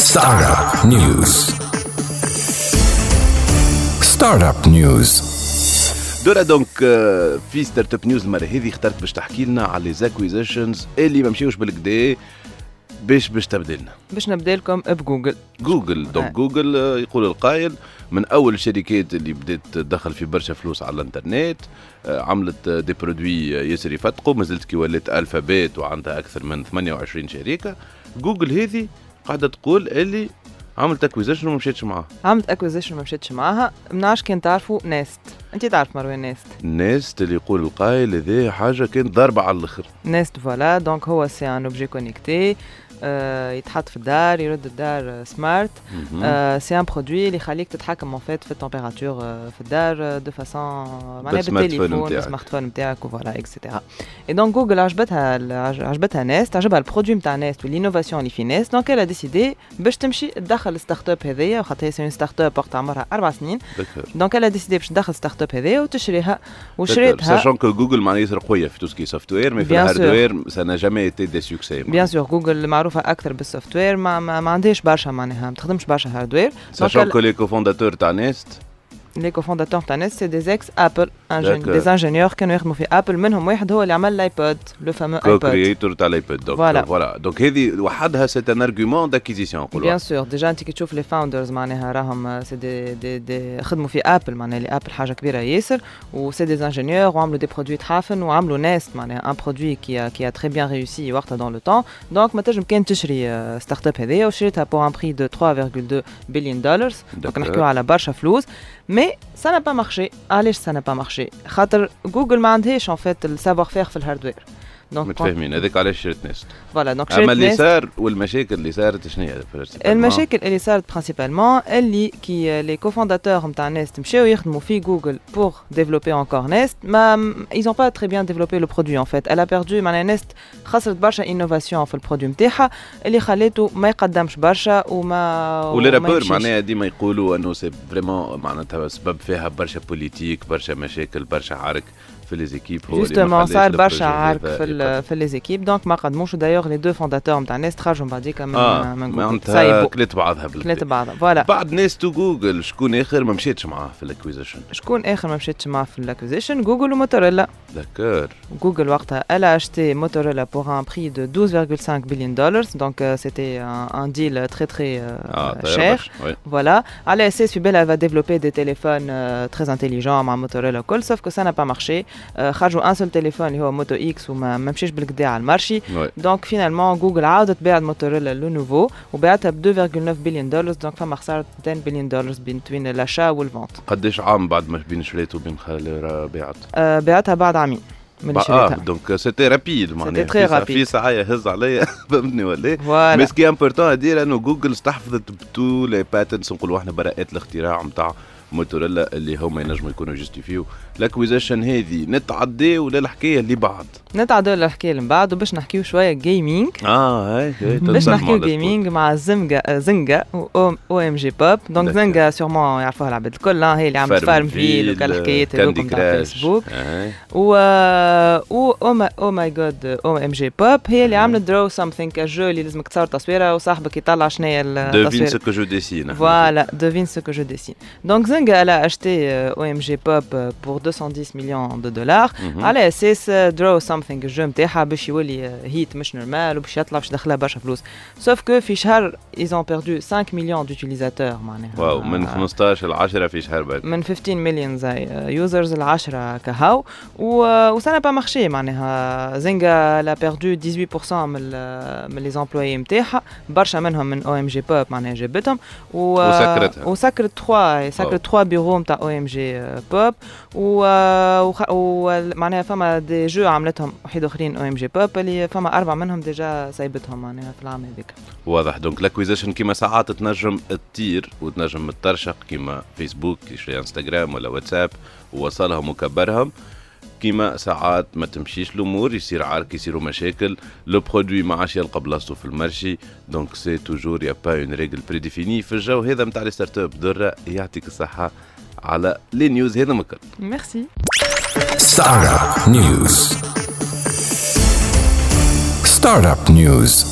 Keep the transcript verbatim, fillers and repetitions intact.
Startup News. Startup News. دورا دونك في ستارت اب نيوز المره هذه اخترت باش تحكي لنا على لي زاكويزيشنز اللي ما مشيوش بالكدا باش باش تبدا لنا باش نبدا لكم بجوجل. جوجل دونك جوجل يقول القائل من اول الشركات اللي بدات تدخل في برشا فلوس على الانترنت، عملت دي برودوي ياسر يفتقوا، مازلت كي ولات الفابيت وعندها اكثر من ثمانية وعشرين شركه. جوجل هذه قاعده تقول اللي عملت اكويزيشن وما مشيتش معاها. عملت اكويزيشن وما مشيتش معاها. منعرفش كان تعرفوا نيست. انت تعرف مروان نيست؟ نيست اللي يقول القائل هذه حاجه كانت ضربه على الاخر. نيست فوالا دونك هو سي ان اوبجي كونيكتي، آه يتحط في الدار، يرد الدار سمارت. آه سي ان برودوي اللي يخليك تتحكم في التمبيراتور في الدار دو فاسون معناها بالتليفون بالسمارت فون نتاعك وفوالا اكسيتيرا. اي دونك جوجل عجبتها عجبتها نيست، عجبها البرودوي نتاع نيست والانوفاسيون اللي في نيست، دونك elle a décidé باش تمشي تدخل الستارت اب هذيا، خاطر هي سي ستارت اب وقت عمرها أربع سنين. دونك elle a décidé باش تدخل ستارت اب هذيا وتشريها وشريتها. ساشون كو جوجل معناها ياسر قويه في توسكي سوفت وير، مي في الهاردوير سا نا جامي ايتي دي سوكسي. بيان سور جوجل معروفه اكثر بالسوفت وير، ما, ما, ما عندهاش برشا معناها ما تخدمش برشا هاردوير. ساشون كو لي كوفونداتور تاع نيست لي كوفونداتور تاع نيست سي دي اكس ابل، دي انجينيور كانوا يخدموا في ابل، منهم واحد هو اللي عمل الايبود لو فامو ايبود كرييتور تاع الايبود. دونك فوالا دونك هذه وحدها سي ان ارغيومون داكيزيسيون نقولوا. بيان سور ديجا انت كي تشوف لي فاوندرز معناها راهم سي دي دي, دي خدموا في ابل، معناها اللي ابل حاجه كبيره ياسر، وسي دي انجينيور وعملوا دي برودوي تحافن وعملوا نيست معناها ان برودوي كي كي ا تري بيان ريوسي وقتها دون لو طون. دونك ما تنجم كان تشري ستارت اب هذيا وشريتها بور ان بري دو ثلاثة فاصلة اثنين بليون دولار، دونك نحكيو على برشا فلوس. مي ça n'a pas marché. علاش ça n'a pas marché؟ خاطر جوجل ما عندهاش en fait السافوار فير في الهاردوير. دونك متفاهمين هذاك علاش شريت نيست. فوالا دونك شريت اما اللي نيست. صار والمشاكل اللي صارت شنو هي؟ المشاكل اللي صارت برينسيبالمون اللي كي لي كوفونداتور نتاع نيست مشاو يخدموا في جوجل بور ديفلوبي انكور نيست، ما ils ont pas très bien développé le produit en fait. Elle a perdu معناها نيست خسرت برشا انوفاسيون في البرودوي نتاعها اللي خليته ما يقدمش برشا وما ولي رابور معناها ديما يقولوا انه سي فريمون معناتها سبب فيها برشا بوليتيك، برشا مشاكل، برشا عرك في لي زيكيب. جوستومون صار برشا عرك في في لي زيكيب، دونك ما قدموش. دايوغ لي دو فونداتور نتاع نيست خرجوا بعديك من آه من جوجل، كلت بعضها بالكدا كلت بعضها فوالا. بعد نيست وجوجل شكون اخر ما مشيتش معاه في الاكويزيشن؟ شكون اخر ما مشيتش معاه في الاكويزيشن؟ جوجل وموتوريلا. داكور. جوجل وقتها elle a acheté Motorola pour un prix de douze virgule cinq billion dollars, donc euh, c'était un, un deal très très euh, ah, cher. Oui. Voilà. على اساس في بالها va développer des téléphones euh, très intelligents مع موتوريلا كل، sauf que ça n'a pas marché. euh, خرجوا un seul téléphone اللي هو موتو اكس وما مشيش بالكدا على المارشي. دونك فينالمون جوجل عاودت باعت موتوريلا لو نوفو وباعتها ب deux virgule neuf billion dollars، دونك فما خساره مئتين بليون دولار بين لاشا والفونت. قداش عام بعد ما بين شريت وبين خالي باعت؟ آه بعتها بعد عامين من شريتها. اه دونك سيتي رابيد معناها سيتي تري في ساعه يهز عليا فهمتني ولا؟ مي سكي امبورطون ادير انه جوجل استحفظت بتو لي باتنتس نقولوا احنا براءات الاختراع نتاع موتوريلا اللي هما ينجموا يكونوا جوستيفيو. الاكويزيشن هذه نتعدي ولا الحكايه اللي بعد؟ نتعدي ولا الحكايه اللي بعد، وباش نحكيو شويه جيمنج. اه هاي باش نحكيو جيمنج مع زنجا زنجا او ام جي بوب. دونك زنجا سيغمون يعرفوها العباد الكل، هي اللي عملت فارم فيل وكالحكايات هذوكم تاع فيسبوك. و او او ماي جاد او ام جي بوب هي اللي عملت درو سامثينغ، الجو اللي لازمك تصور تصويره وصاحبك يطلع شنو هي التصوير. دوفين سو كو جو ديسين. فوالا دوفين سو كو جو ديسين. دونك زنجا elle a acheté او ام جي بوب pour deux cent dix millions de dollars على اساس درو سامثينغ الجو نتاعها باش يولي هيت مش نورمال وباش يطلع باش يدخلها برشا فلوس. سوف كو في شهر ils ont perdu cinq millions d'utilisateurs معناها. واو من خمسطاش ل عشرة في شهر بعد. من خمسطاش مليون زي يوزرز ل عشرة كهو و سا با مارشي معناها. زنجا لا بيردو dix-huit pour cent من من لي زامبلويي نتاعها، برشا منهم من او ام جي بوب معناها جابتهم و وسكرتها وسكرت ثلاثة سكرت ثلاثة بيرو نتاع او ام جي بوب و ومعناها فما دي جو عملتهم وحيد اخرين او ام جي بوب اللي فما اربع منهم ديجا سايبتهم معناها في العام هذيك. واضح. دونك الاكويزيشن كيما ساعات تنجم تطير وتنجم ترشق كيما فيسبوك يشري انستغرام ولا واتساب ووصلهم وكبرهم، كيما ساعات ما تمشيش الامور، يصير عارك، يصيروا مشاكل، لو برودوي ما عادش يلقى بلاصتو في المارشي. دونك سي توجور يا با اون ريغل بريديفيني في الجو هذا نتاع لي ستارت اب. درة يعطيك الصحه على لي نيوز هذا مكان. ميرسي. ستارت اب نيوز. ستارت اب نيوز.